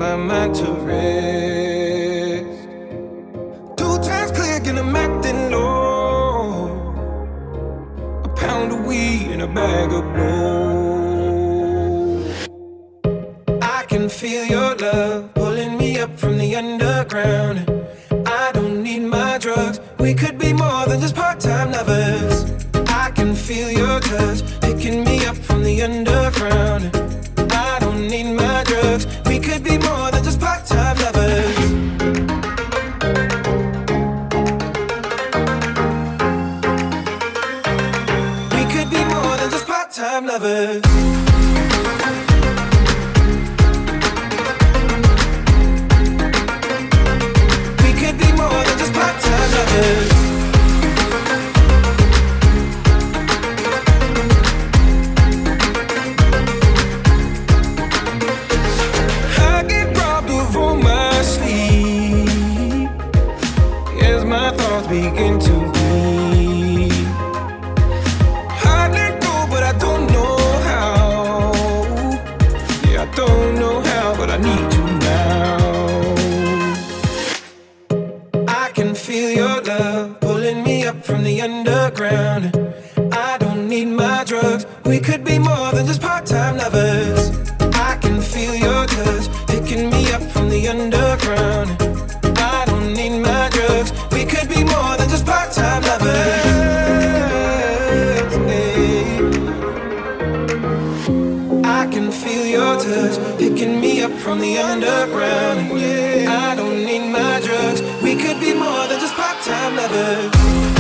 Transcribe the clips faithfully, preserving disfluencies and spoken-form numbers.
my mind to rest. Two times click and I'm acting low. A pound of weed and a bag of blow. I can feel your love pulling me up from the underground. I don't need my drugs. We could be more than just part-time lovers. I can feel your touch picking me up from the underground. I don't need my drugs. We could be more than just part-time lovers. We could be more than just part-time lovers. We could be more than just part-time lovers. Begin to bleed. I let go, but I don't know how. Yeah, I don't know how, but I need to now. I can feel your love pulling me up from the underground. I don't need my drugs. We could be more than just part-time lovers. I can feel your touch picking me up from the underground. I don't need my drugs. We could be more than just part-time lovers. I can feel your touch picking me up from the underground. I don't need my drugs. We could be more than just part-time lovers.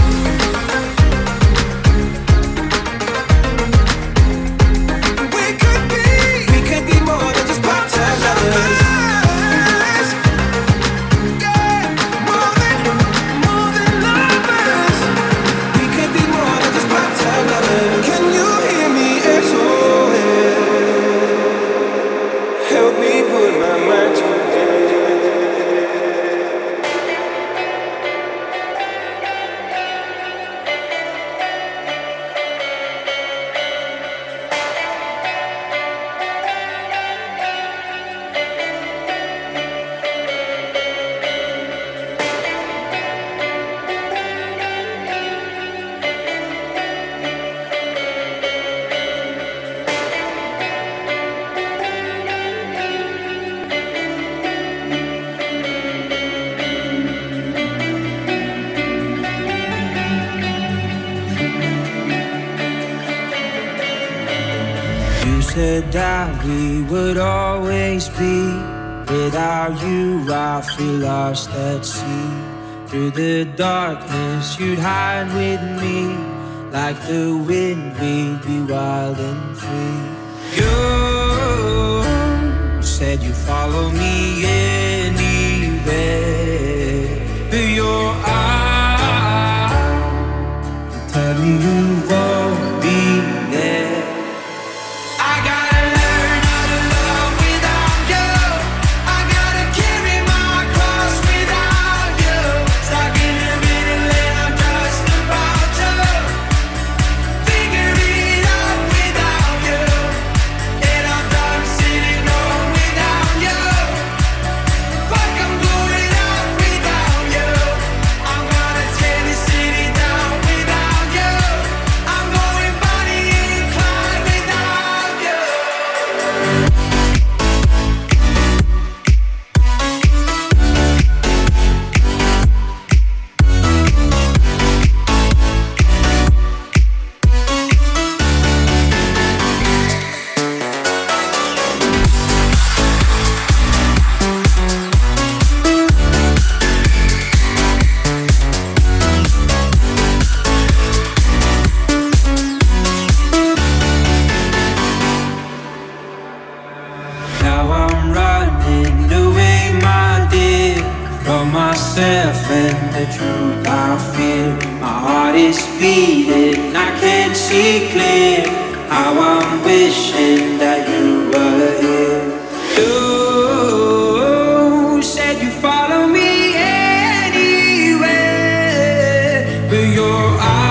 We could be, we could be more than just part-time lovers. Can you hear me S O S? Help me put my mind to said that we would always be. Without you I feel lost at sea. Through the darkness you'd hide with me. Like the wind we'd be wild and free. You said you'd follow me anywhere. But your eyes tell me you won't be there. And the truth I feel, my heart is beating, I can't see clear. How I'm wishing that you were here. You said you follow me anywhere, but your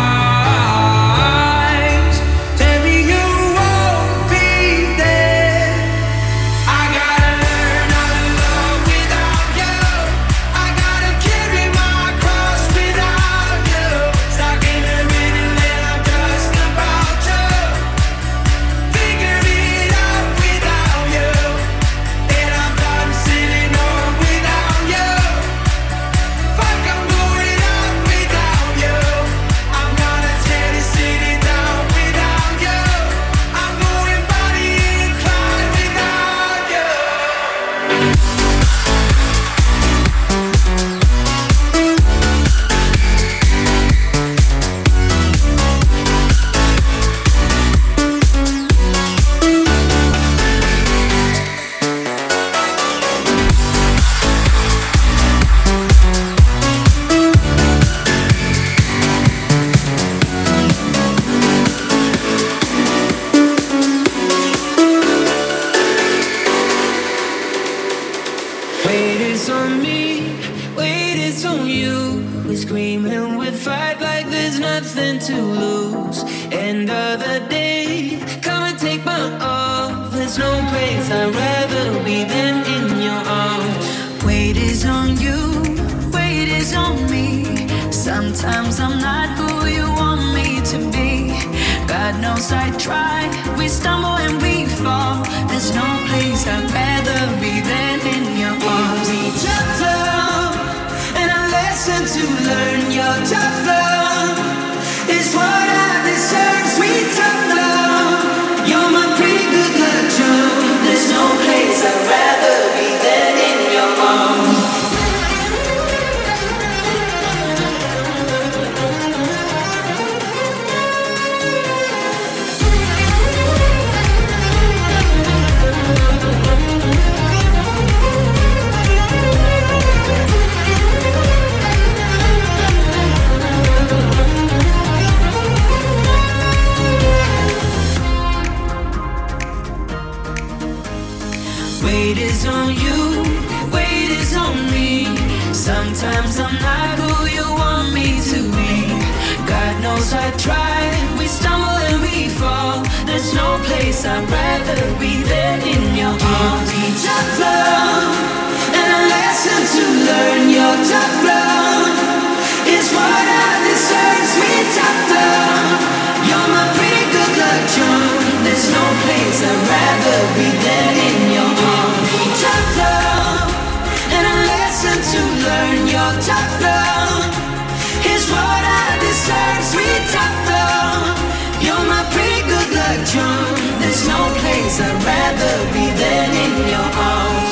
eyes tell me you won't be there. I gotta learn how to love scream and we'd fight like there's nothing to lose. End of the day, come and take my all. There's no place I'd rather be than in your arms. Weight is on you, weight is on me. Sometimes I'm not who you want me to be. God knows I try, we stumble and we fall. There's no place I'd rather be than in your arms. We tough love, and a lesson to learn. Your tough love is what I deserve. Sweet tough love, you're my pretty good luck charm. There's no place I'd rather be than in your arms. Weight is on you, weight is on me. Sometimes I'm not who you want me to be. God knows I try, we stumble and we fall. There's no place I'd rather be than in your arms. Tough love, and a lesson to learn. Your tough love is what I deserve. Sweet tough love, you're my pretty good luck charm. There's no place I'd rather be than in your arms. Tough love, and a lesson to learn. Your tough love is what I deserve. Sweet tough love, you're my pretty good luck charm. There's no place I'd rather be than in your arms.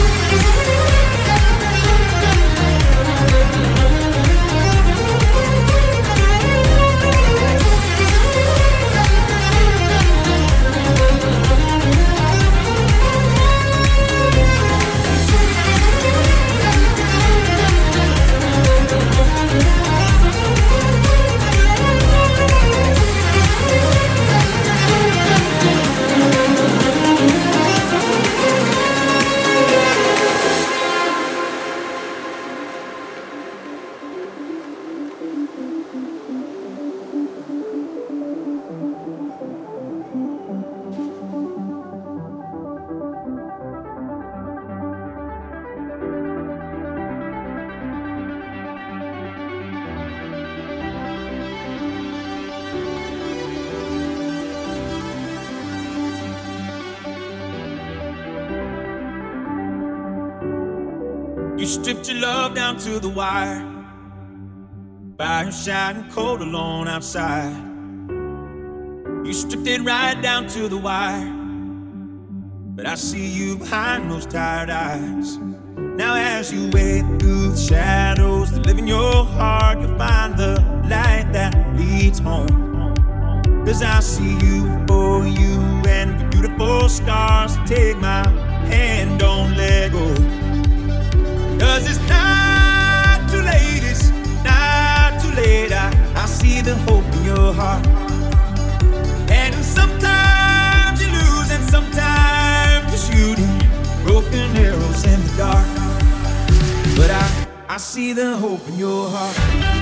You stripped your love down to the wire. Fire shining cold alone outside. You stripped it right down to the wire. But I see you behind those tired eyes. Now as you wade through the shadows that live in your heart, you'll find the light that leads home. Cause I see you for you and your beautiful scars. Take my hand, don't let go. Cause it's not too late, it's not too late. I, I see the hope in your heart. And sometimes you lose and sometimes you're shooting broken arrows in the dark. But I, I see the hope in your heart.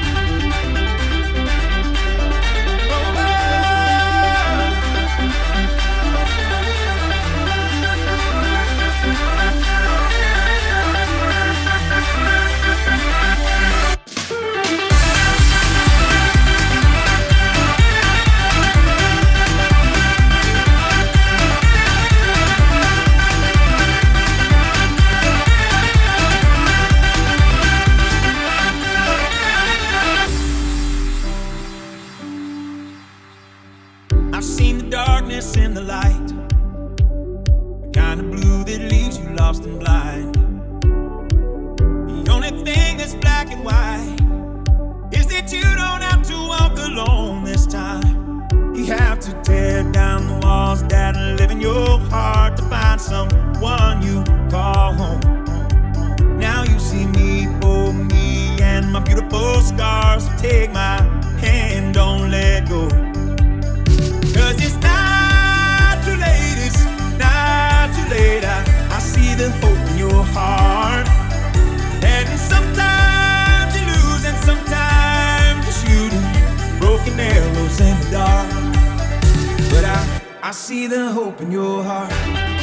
In the light, the kind of blue that leaves you lost and blind. The only thing that's black and white is that you don't have to walk alone this time. You have to tear down the walls that live in your heart to find someone you call home. Now you see me for me and my beautiful scars. Take my hand, don't let go. Cause it's not too late, it's not too late. I, I see the hope in your heart. And sometimes you lose and sometimes I see the hope in your heart.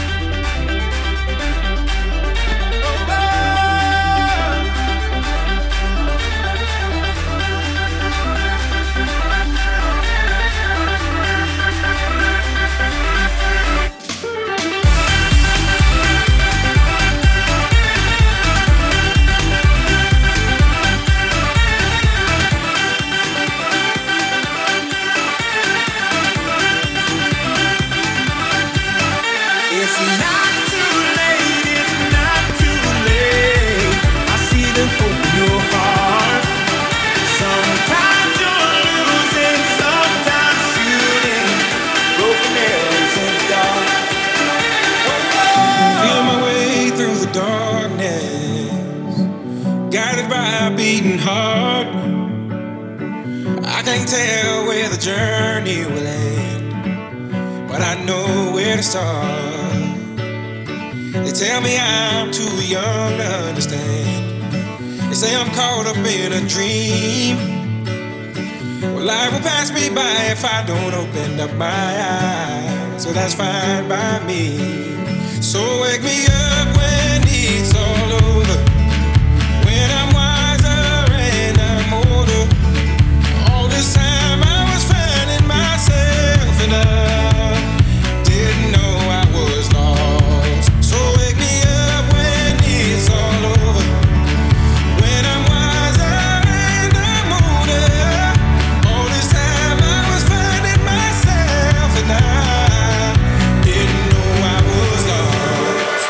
Tell where the journey will end, but I know where to start. They tell me I'm too young to understand. They say I'm caught up in a dream. Well, life will pass me by if I don't open up my eyes, so that's fine by me. So wake me up when it's all over, when I'm wiser and I'm older. This time I was finding myself and I didn't know I was lost. So wake me up when it's all over, when I'm wiser and I'm older. All this time I was finding myself and I didn't know I was lost.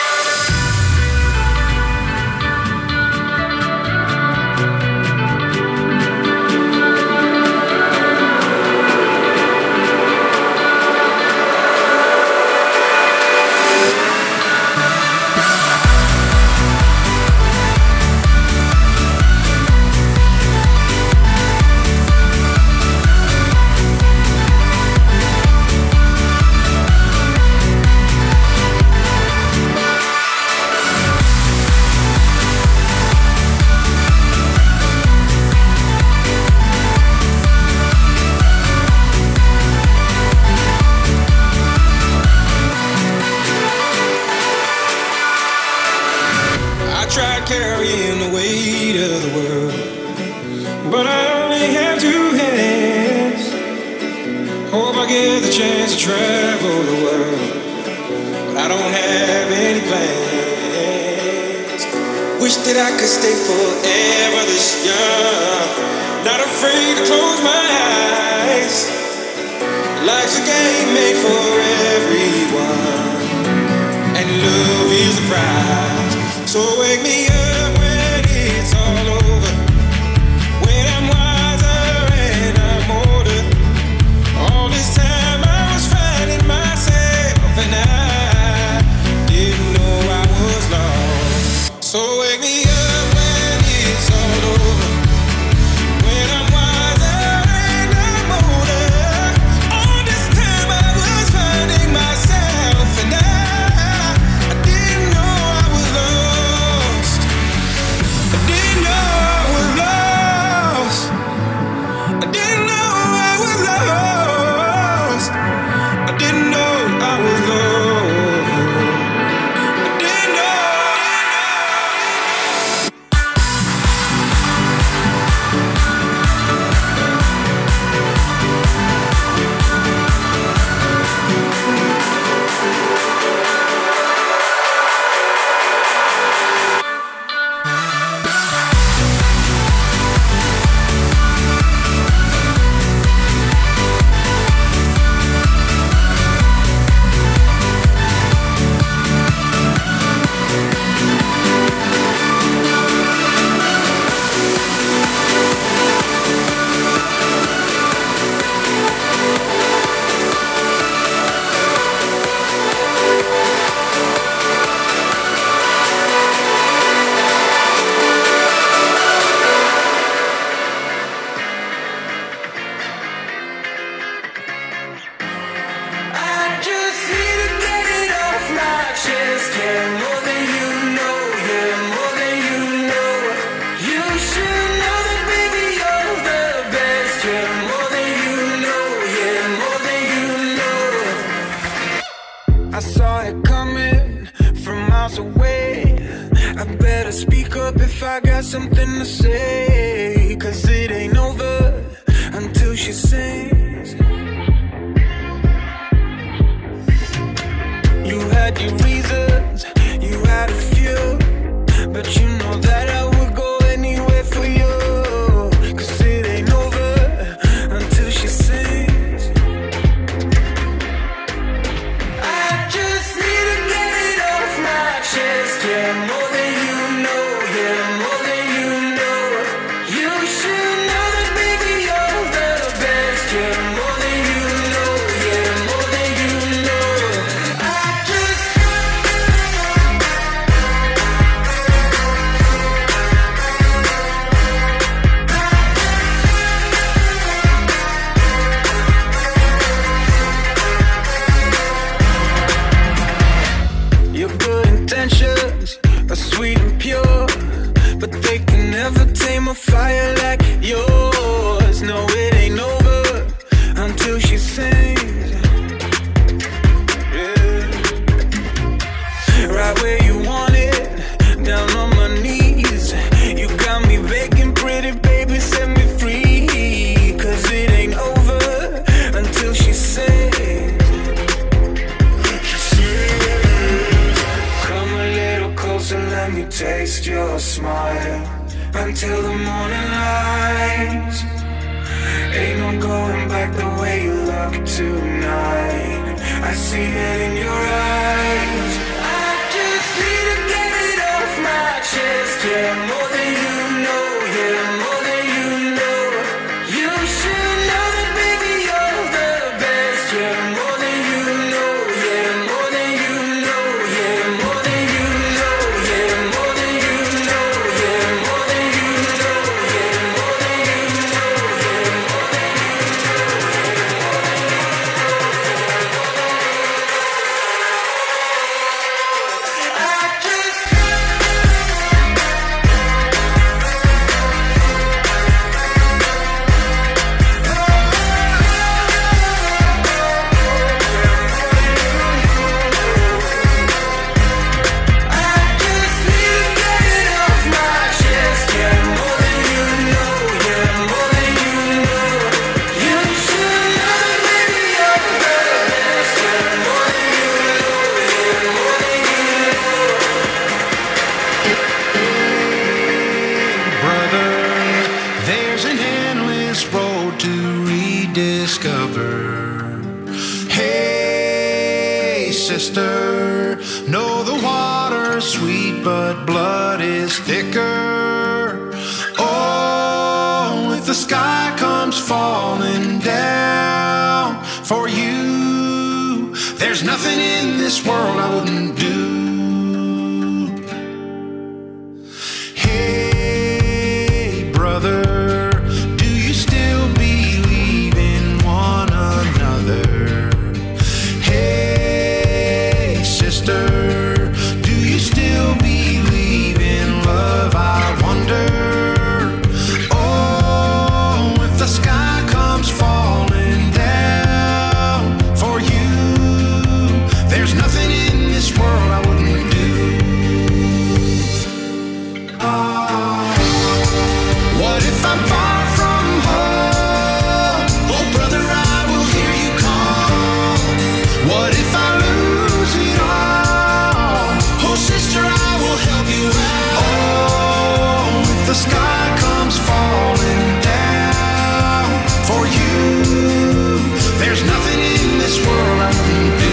Carrying the weight of the world, but I only have two hands. Hope I get the chance to travel the world, but I don't have any plans. Wish that I could stay forever this young, not afraid to close my eyes. Life's a game made for everyone, and love is the prize. So wake me up when it's all over, when I'm wiser and I'm older. All this time I was finding myself and I didn't know I was lost. So wake me up when it's all over, when I'm wiser and I'm older. All this time I was finding myself and I, I didn't know I was lost. if I got something to say, 'cause it ain't over until she sings. You had your reasons, you had a few, but you know that I would go anywhere for you. 'Cause it ain't over until she sings. I just need to get it off my chest, yeah, more than you know, yeah, more than you know. You should know that, baby, you're the best, yeah, more than you know, yeah, more than you know. I just your good intentions are sweet and pure, but they can never tame a fire like yours. No, it ain't over until she sings. Yeah. Right where you want it, down on my knees. You got me begging, pretty baby, set me free. 'Cause it ain't over until she sings. Come a little closer, let me taste your smile until the morning light. Ain't no going back the way you look tonight. I see it in your eyes. I just need to get it off my chest, yeah, more than you know, yeah, more than you know. You should know that, baby, you're the best, yeah, more than you know, yeah, more than you know, yeah, more than you know, yeah, more than you know, yeah, more than you know, yeah, more than you know, yeah, more than you know. I just I just need to get it off my chest, yeah, more than you know, yeah, more than you know. You should know that, baby, you're the best, yeah, more than you know, yeah, more than you know. Brother, there's an endless road to rediscover. Hey, sister, know the water's sweet, but blood is thicker. Oh, if the sky comes falling down for you, there's nothing in this world I wouldn't do. Hey, brother, do you still believe in one another? Hey, sister, do you still believe in love? I wonder. Oh, if the sky comes falling down for you, there's nothing in this world I wouldn't do. What if I'm far from home? Oh, brother, I will hear you call. What if I lose it all? Oh, sister, I will help you out. Oh, if the sky comes falling down for you, there's nothing in this world I wouldn't do.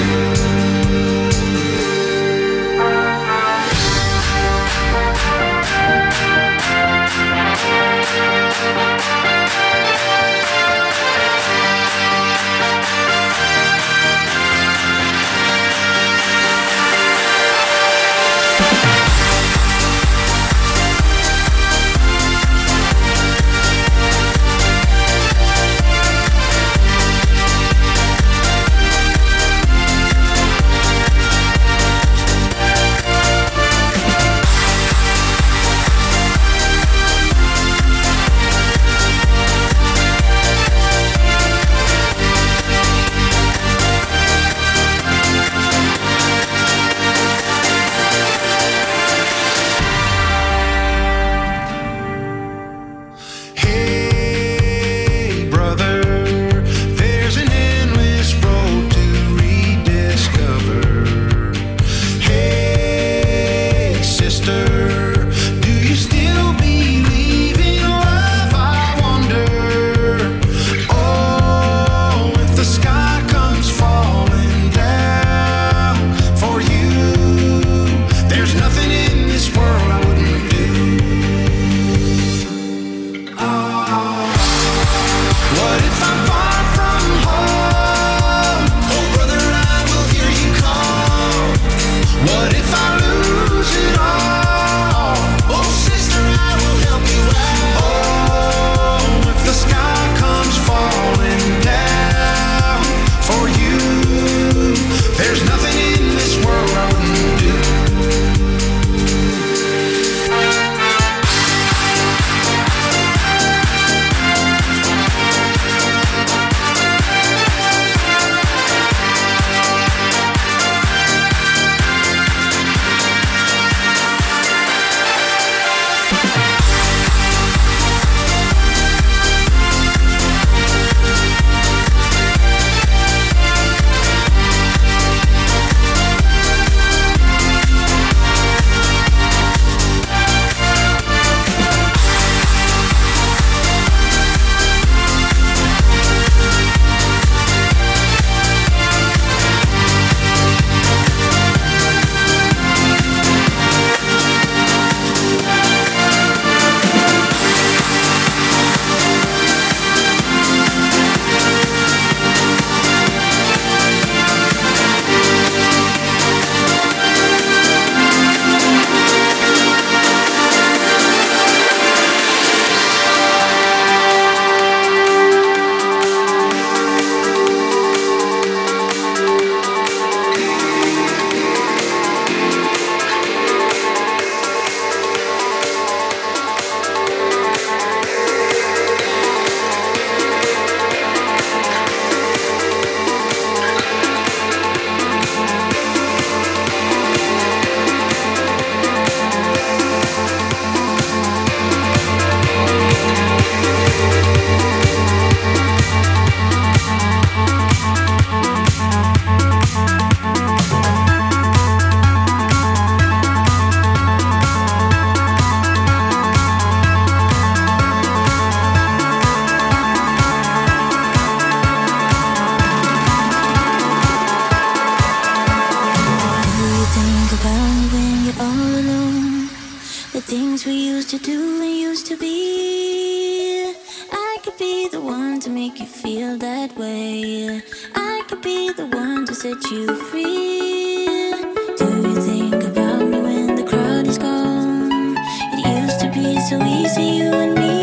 to make you feel that way. I could be the one to set you free. Do you think about me when the crowd is gone? It used to be so easy, you and me.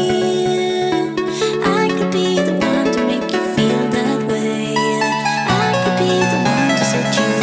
I could be the one to make you feel that way. I could be the one to set you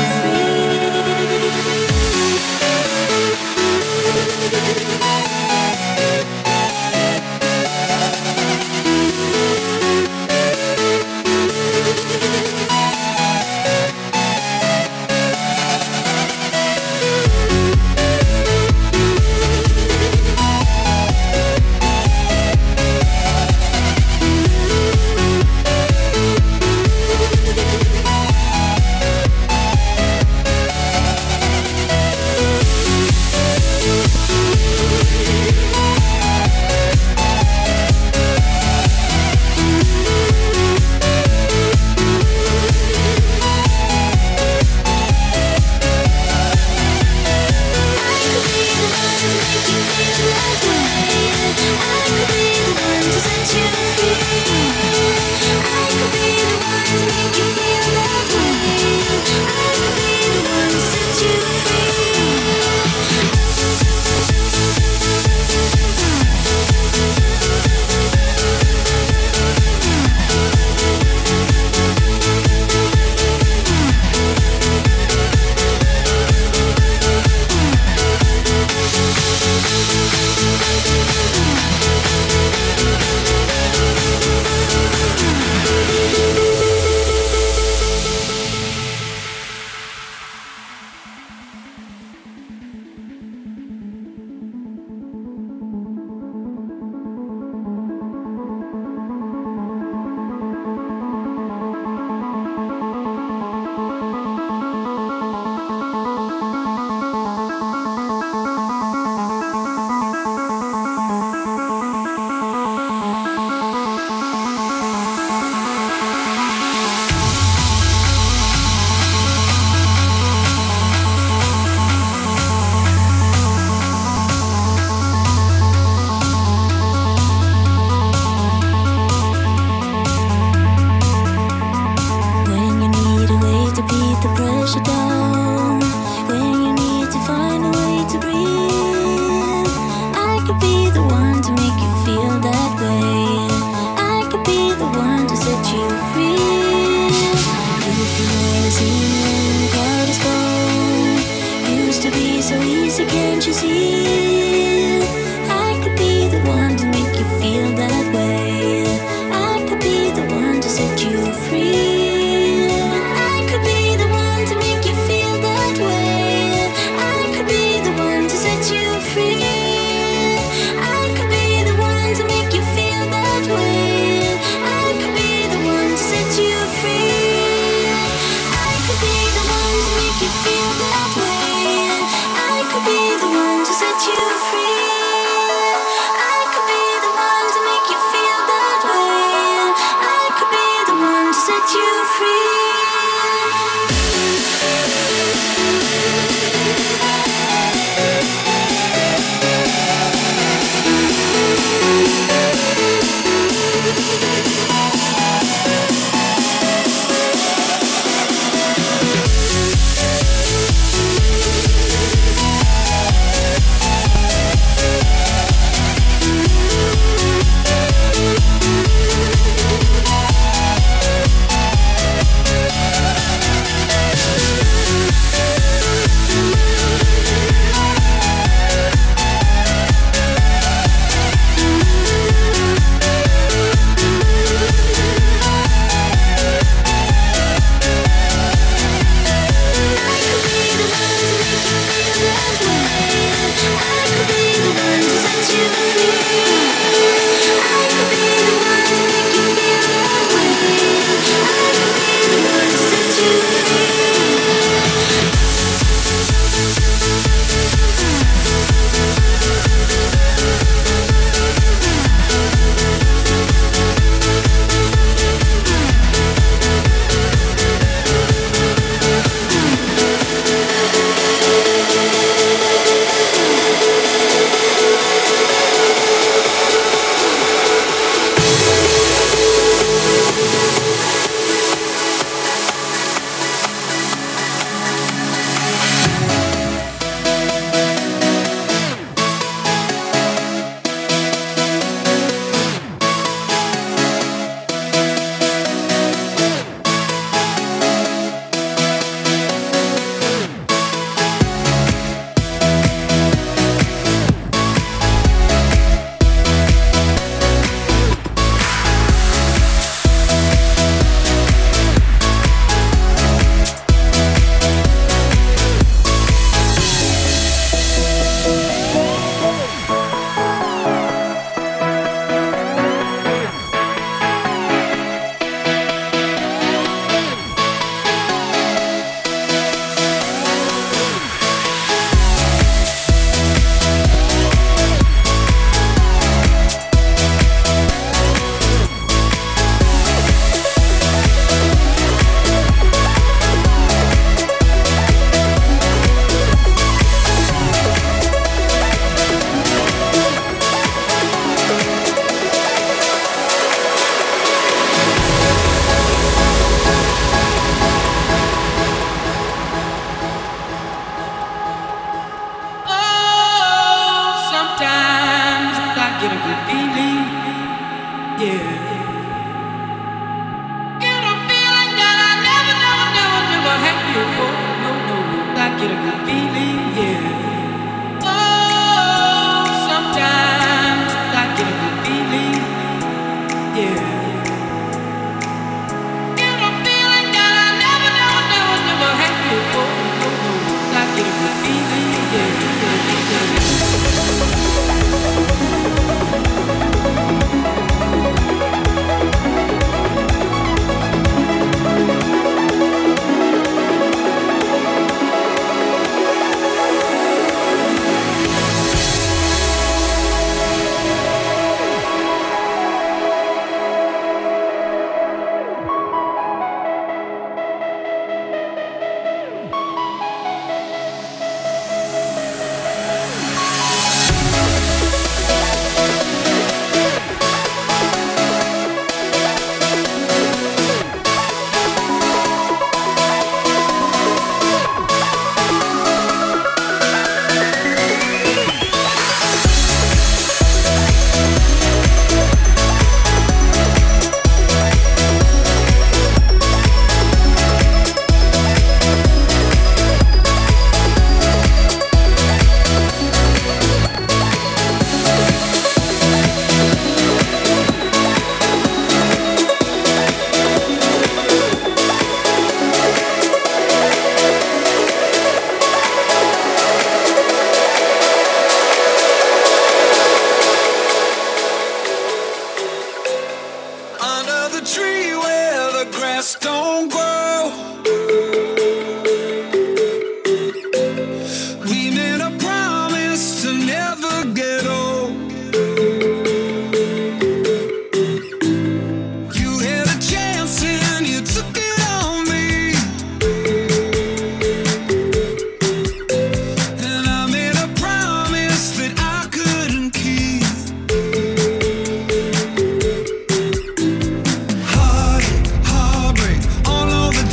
Heartache, heartbreak, all over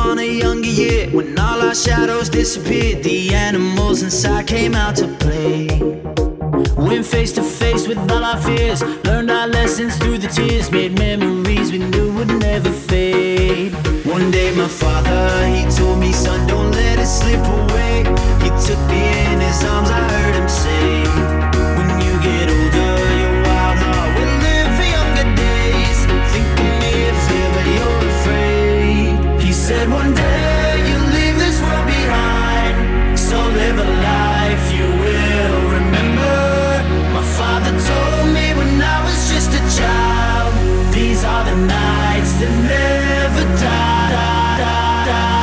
on a younger year, when all our shadows disappeared, the animals inside came out to play. Went face to face with all our fears, learned our lessons through the tears, made memories we knew would never fade. One day my father, he told me, son, don't let it slip away. He took me in his arms, I heard him say, when you get older, your wild heart will live for younger days. Think of me if ever you're afraid. He said one day you'll leave this world behind, so live a life you will remember. My father told me when I was just a child, these are the nights that never die, die, die, die.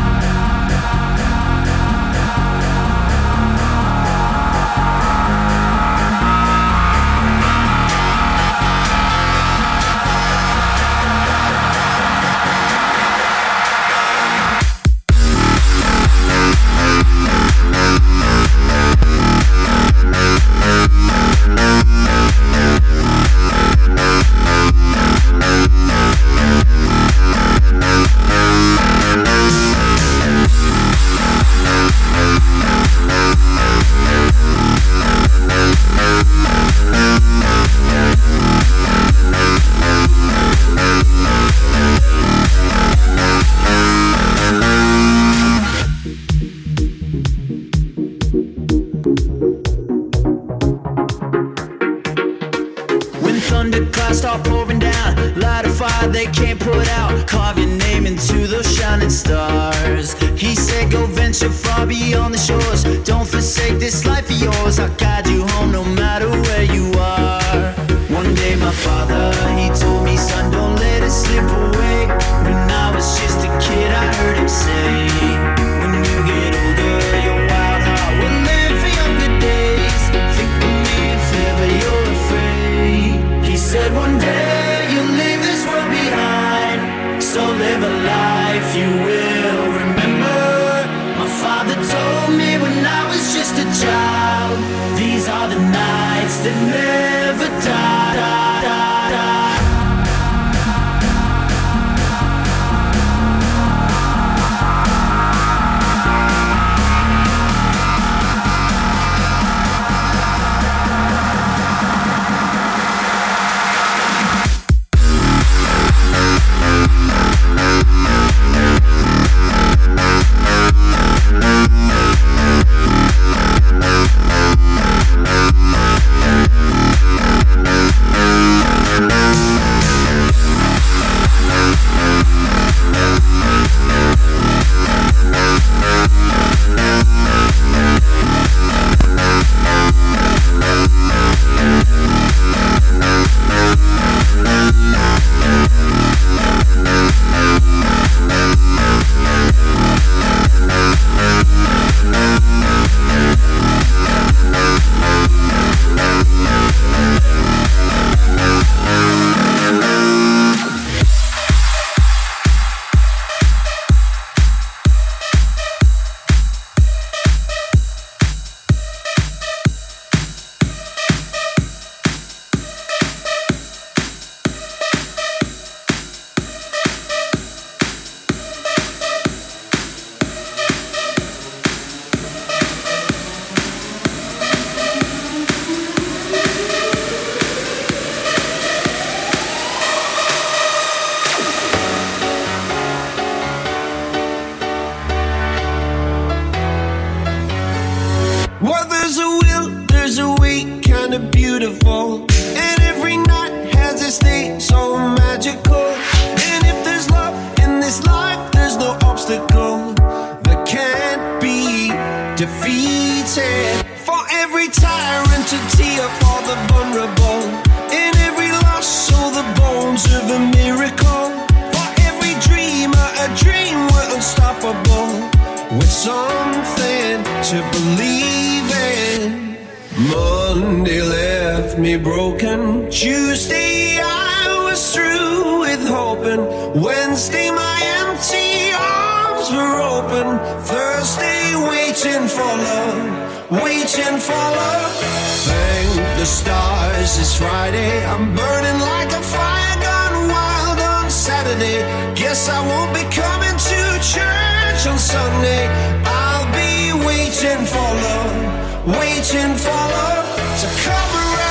They can't put out, carve your name into those shining stars. He said go venture far beyond the shores, don't forsake this life of yours. I'll guide you home no matter where you are. One day my father, he told me, son, don't let it slip away. When I was just a kid I heard him say, when you get older your wild heart will live for younger days. Think of me if ever you're afraid. He said one day you'll leave this world behind, so live a life you will remember. My father told me when I was just a child, these are the nights that never die, die, die, die. Guess I won't be coming to church. Sunday. I'll be waiting for love, waiting for love to come around.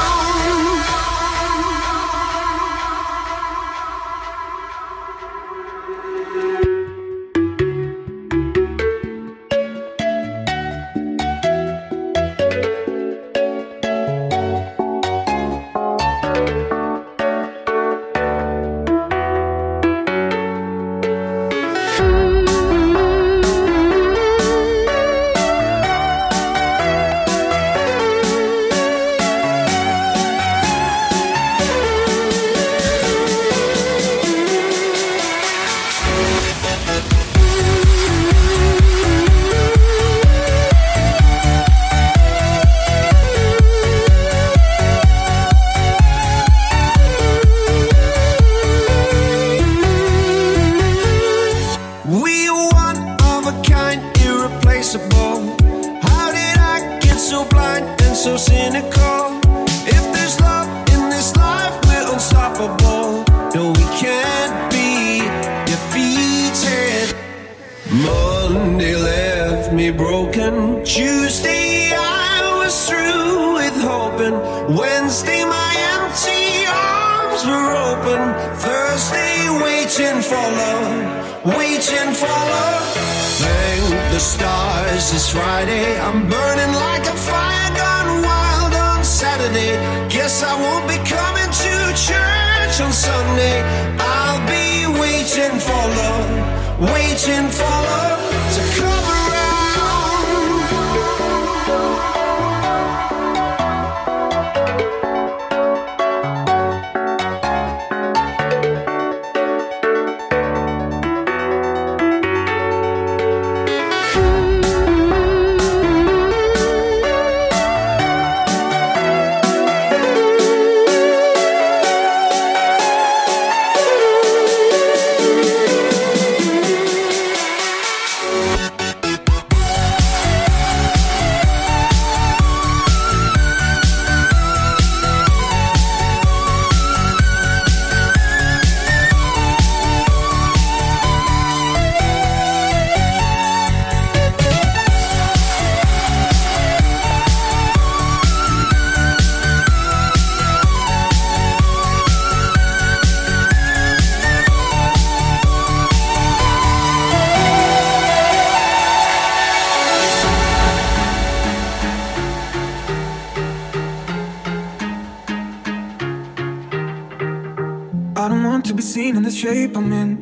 Shape I'm in.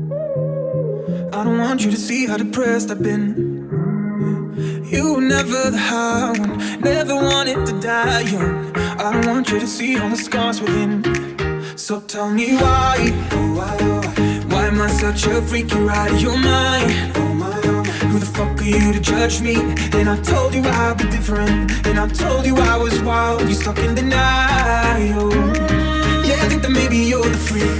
I don't want you to see how depressed I've been. You were never the high one, never wanted to die young. I don't want you to see all the scars within. So tell me why, why am I such a freak? You're out of your mind. Who the fuck are you to judge me? And I told you I'd be different, and I told you I was wild. You're stuck in denial. Yeah, I think that maybe you're the freak.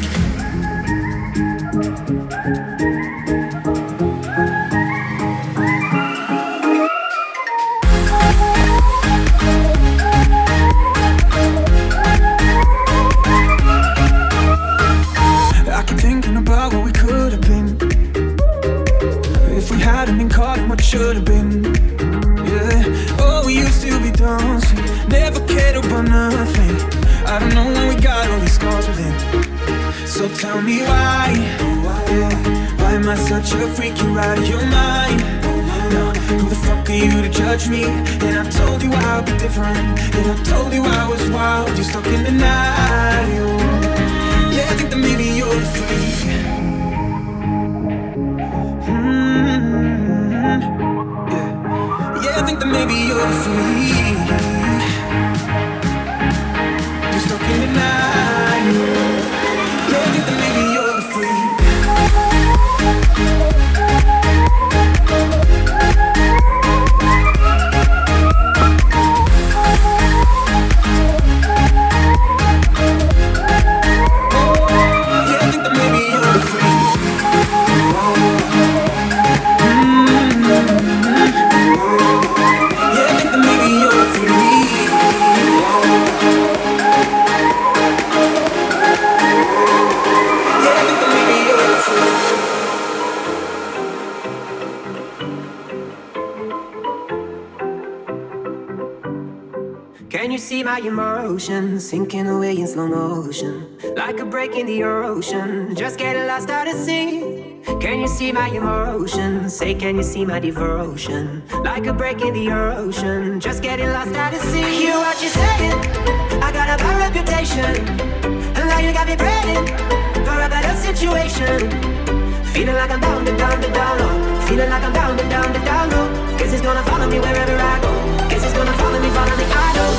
I keep thinking about what we could have been if we hadn't been caught in what should have been. Yeah. Oh, we used to be dancing, never cared about nothing. I don't know when we got all these scars within. So tell me why, yeah. Why am I such a freak? You're out of your mind. No, who the fuck are you to judge me? And I told you I'd be different, and I told you I was wild. You're stuck in denial. Yeah, I think that maybe you're the freak. Mm-hmm. Yeah, yeah, I think that maybe you're the freak. You're stuck in denial. Yeah, I think that maybe you're the freak. Yeah, I think that maybe you're free. my emotions sinking away in slow motion, like a break in the ocean, just getting lost out at sea. Can you see my emotions? Say, can you see my devotion? Like a break in the ocean, just getting lost out at sea. I hear what you're saying, I got a bad reputation, and now you got me praying for a better situation. Feeling like I'm down to down to down low, feeling like I'm down to down to down low. Guess it's gonna follow me wherever I go. Guess it's gonna follow me, follow me, I know.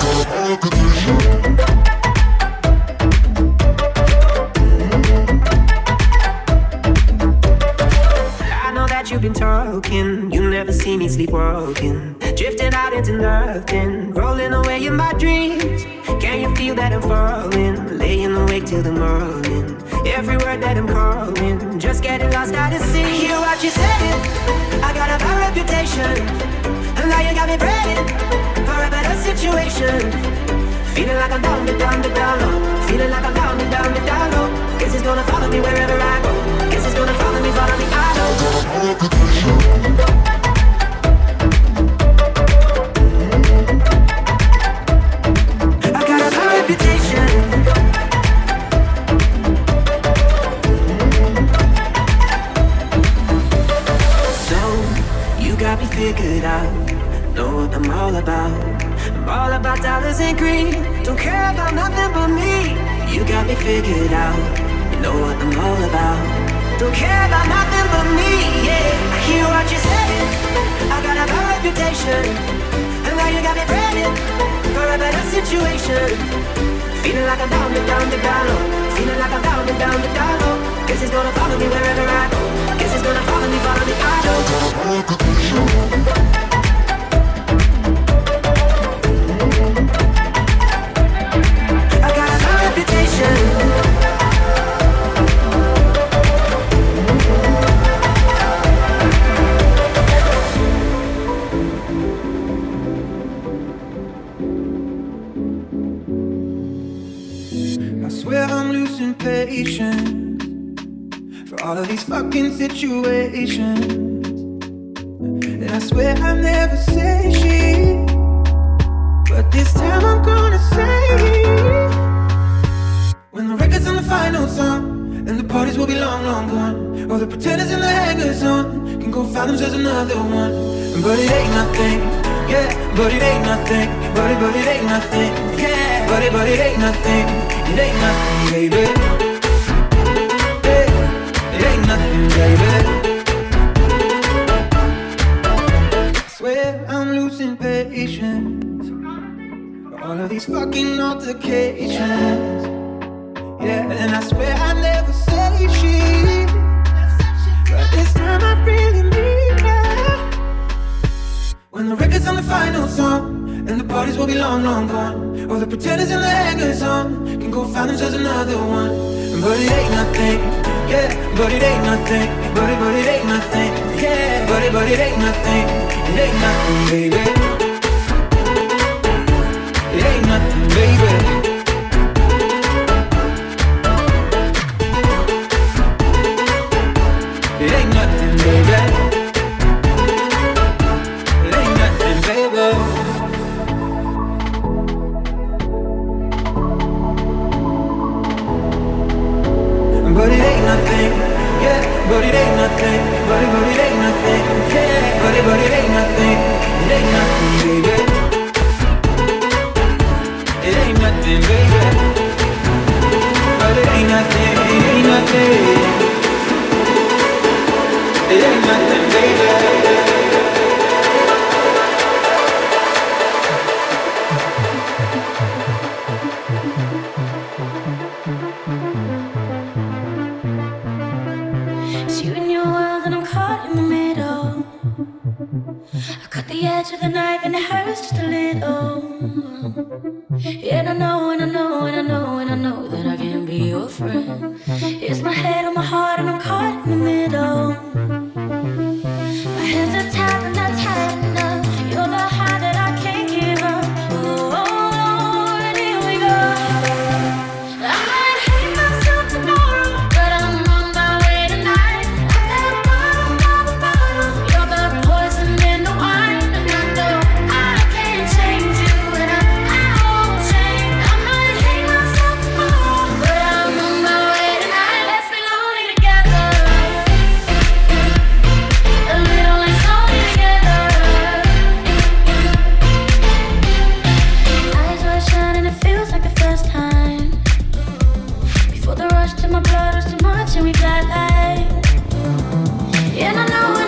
I know that you've been talking, you never see me sleepwalking, drifting out into nothing, rolling away in my dreams. Can you feel that I'm falling, laying awake till the morning? Every word that I'm calling, just getting lost out at sea. Hear what you're saying, I got a bad reputation, and now you got me praying for a better situation. Feeling like I'm down to down to down low, feeling like I'm down to down to down low. Guess it's gonna follow me wherever I go. Guess it's gonna follow me, follow me, I know. I got a bad reputation. Got me figured out, know what I'm all about. I'm all about dollars and greed, don't care about nothing but me. You got me figured out, you know what I'm all about. Don't care about nothing but me, yeah. I hear what you're saying, I got a bad reputation, and now you got me praying for a better situation. Feeling like I'm down to down to down low, feeling like I'm down to down to down low. Guess it's gonna follow me wherever I go. Guess it's gonna follow me, follow me, I know. I got a bad reputation. I swear I'm losing patience for all of these fucking situations, and I swear I never say shit, but this time I'm gonna say, when the record's on the final song, and the parties will be long, long gone, all the pretenders in the hangers on can go find themselves another one. But it ain't nothing, yeah, but it ain't nothing, but it, but it ain't nothing, yeah, but it, but it ain't nothing, it ain't nothing, baby. It ain't nothing, baby. I swear I'm losing patience for all of these fucking altercations, yeah, and I swear I never say shit, but this time I really mean it. When the record's on the final song, and the parties will be long, long gone, all the pretenders and the hangers on can go find themselves another one. But it ain't nothing, yeah, but it ain't nothing, but it, but it ain't nothing, yeah, but it, but it ain't nothing, it ain't nothing, baby. It ain't nothing, baby. It ain't nothing, baby. It ain't nothing, baby. But it ain't nothing, yeah, but it ain't nothing, but it, but it ain't nothing, yeah, but it, but it ain't nothing, it ain't nothing, baby. It ain't nothing, baby. But it ain't nothing, it ain't nothing. It ain't nothing, baby. The edge of the knife and it hurts just a little. And I know, and I know, and I know, and I know that I can't be your friend. It's my head on my heart and I'm caught in the middle. My hands are tied and not tight enough. You're the high that I can't give up. Oh, oh Lord, here we go. I might hate myself tomorrow, but I'm on my way tonight. At the bottom of the bottle, you're the poison in the wine. And I know I can't change you, and I, I won't change. in my blood was too much and we got like. And I know when